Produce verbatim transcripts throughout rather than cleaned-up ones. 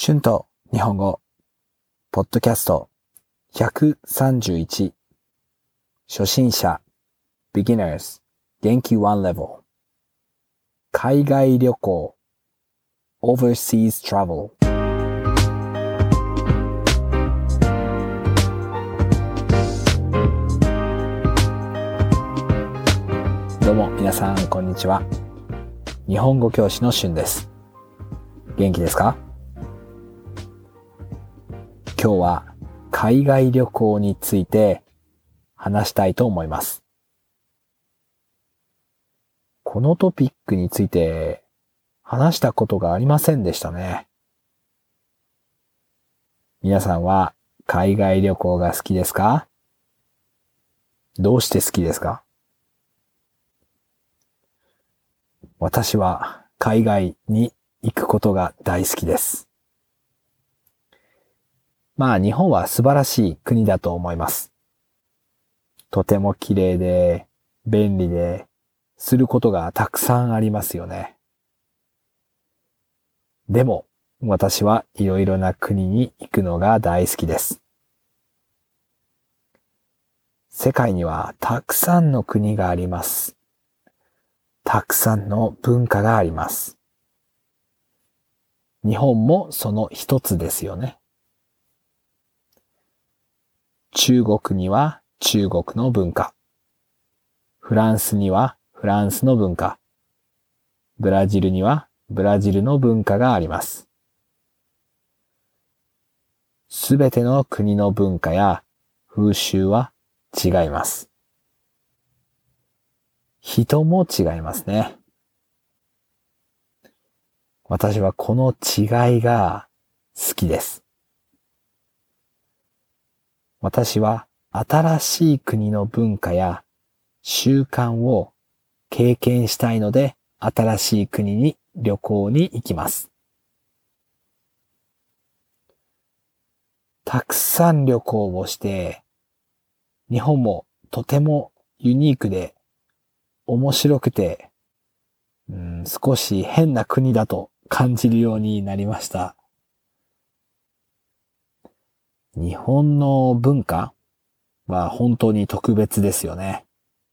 春と日本語ポッドキャストひゃくさんじゅういち初心者 Beginners 元気いちレベル海外旅行 Overseas Travel。 どうも皆さんこんにちは。日本語教師の春です。元気ですか？今日は海外旅行について話したいと思います。このトピックについて話したことがありませんでしたね。皆さんは海外旅行が好きですか？どうして好きですか？私は海外に行くことが大好きです。まあ日本は素晴らしい国だと思います。とても綺麗で便利ですることがたくさんありますよね。でも私はいろいろな国に行くのが大好きです。世界にはたくさんの国があります。たくさんの文化があります。日本もその一つですよね。中国には中国の文化。フランスにはフランスの文化。ブラジルにはブラジルの文化があります。すべての国の文化や風習は違います。人も違いますね。私はこの違いが好きです。私は新しい国の文化や習慣を経験したいので、新しい国に旅行に行きます。たくさん旅行をして、日本もとてもユニークで面白くて、うん、少し変な国だと感じるようになりました。日本の文化は本当に特別ですよね。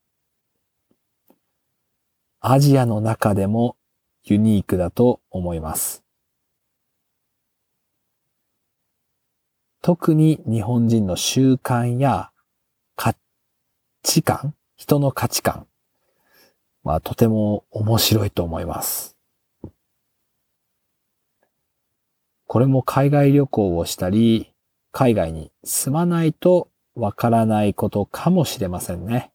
アジアの中でもユニークだと思います。特に日本人の習慣や価値観、人の価値観はとても面白いと思います。これも海外旅行をしたり、海外に住まないとわからないことかもしれませんね。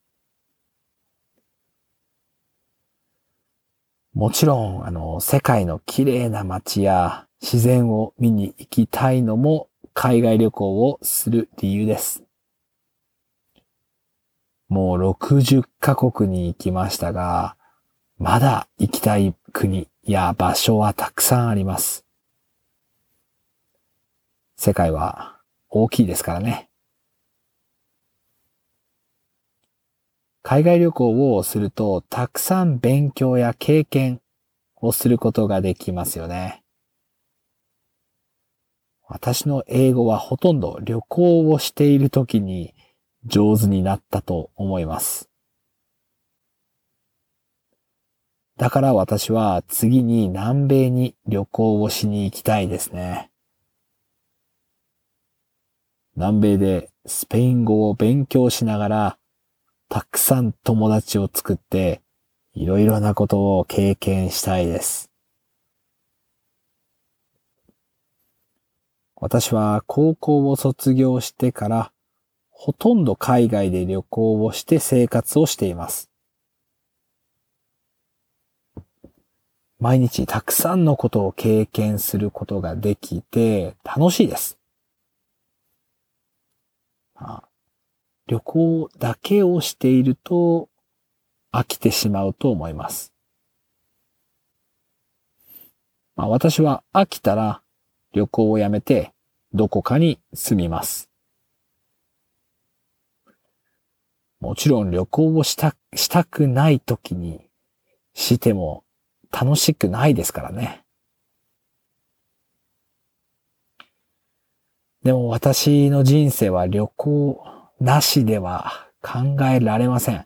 もちろん、あの、世界の綺麗な街や自然を見に行きたいのも海外旅行をする理由です。もうろくじゅっカ国に行きましたが、まだ行きたい国や場所はたくさんあります。世界は大きいですからね。海外旅行をするとたくさん勉強や経験をすることができますよね。私の英語はほとんど旅行をしているときに上手になったと思います。だから私は次に南米に旅行をしに行きたいですね。南米でスペイン語を勉強しながらたくさん友達を作っていろいろなことを経験したいです。私は高校を卒業してからほとんど海外で旅行をして生活をしています。毎日たくさんのことを経験することができて楽しいです。旅行だけをしていると飽きてしまうと思います。まあ、私は飽きたら旅行をやめてどこかに住みます。もちろん旅行をした、したくないときにしても楽しくないですからね。 でも私の人生は旅行なしでは考えられません。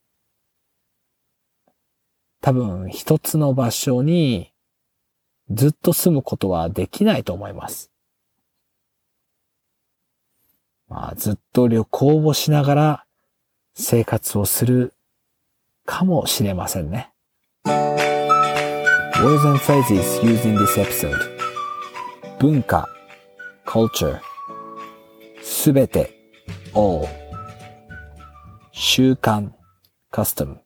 多分一つの場所にずっと住むことはできないと思います。まあ、ずっと旅行をしながら生活をするかもしれませんね。Words and phrases used in this episode. 文化 culture すべて all 習慣 custom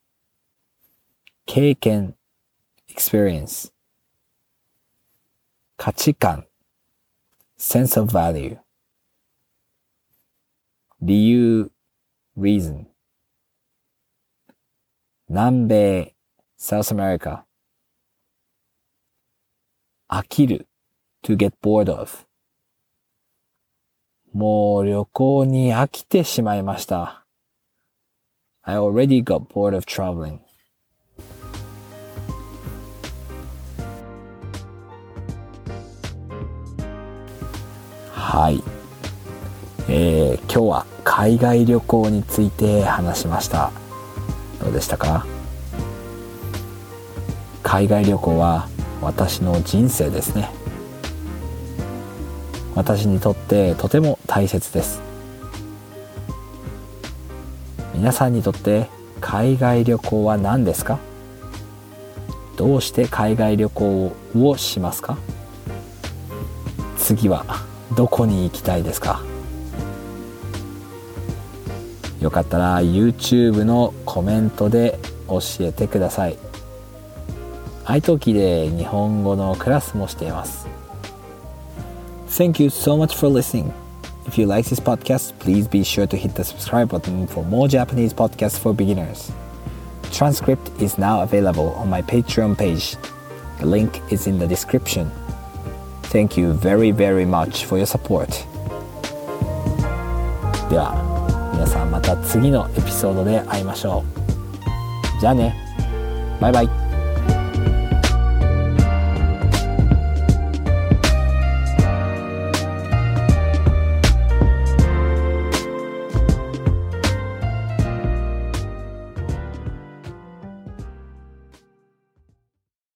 経験 experience 価値観 sense of value 理由 reason 南米 South America 飽きる to get bored of もう旅行に飽きてしまいました。I already got bored of traveling. はい、えー、今日は海外旅行について話しました。どうでしたか？海外旅行は私の人生ですね。私にとってとても大切です。皆さんにとって海外旅行は何ですか？どうして海外旅行をしますか？次はどこに行きたいですか？よかったら YouTube のコメントで教えてください。iTalki で日本語のクラスもしています。Thank you so much for listening. If you like this podcast, please be sure to hit the subscribe button for more Japanese podcasts for beginners. Transcript is now available on my Patreon page. The link is in the description. Thank you very, very much for your support. では、皆さんまた次のエピソードで会いましょう。じゃあね。バイバイ。